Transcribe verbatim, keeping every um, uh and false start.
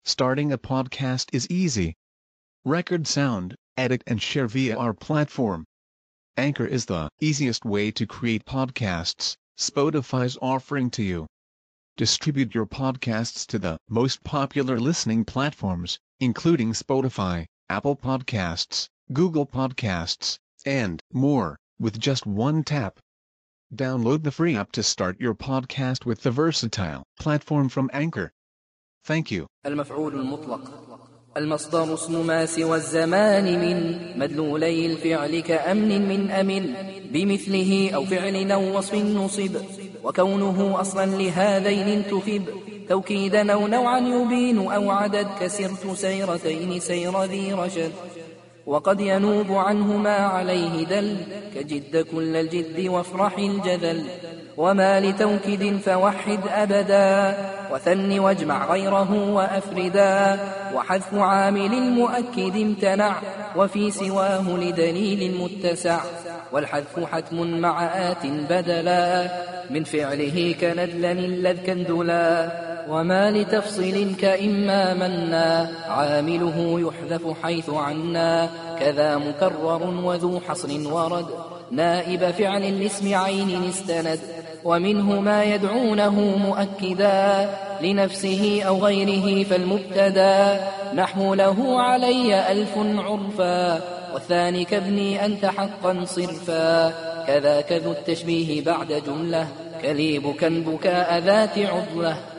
Starting a podcast is easy. Record sound, edit and share via our platform. Anchor is the easiest way to create podcasts Spotify's offering to you. Distribute your podcasts to the most popular listening platforms, including Spotify, Apple Podcasts, Google Podcasts, and more, with just one tap. Download the free app to start your podcast with the versatile platform from Anchor. Thank you. المفعول المطلق المصدر اسم ما سوى الزمان من مدلولي الفعل كأمن من أمن بمثله أو فعل أو وصف نصب وكونه أصلا لهذين انتفب توكيدا أو نوعا يبين أو عدد كسرت سيرتين سير ذي رشد وقد ينوب عنه ما عليه دل كجد كل الجد وافرح الجذل وما لتوكيد فوحد أبدا وثن واجمع غيره وأفردا وحذف عامل مؤكد امتنع وفي سواه لدليل متسع والحذف حتم مع آت بدلا من فعله كندلا الذ كندلا وما لتفصيل كإما منا عامله يحذف حيث عنا كذا مكرر وذو حصر ورد نائب فعل الاسم عين استند ومنه ما يدعونه مؤكدا لنفسه أو غيره فالمبتدا نحو له علي ألف عرفا والثاني كابني أنت حقا صرفا كذاك ذو التشبيه بعد جملة كليب كان بكاء ذات عضلة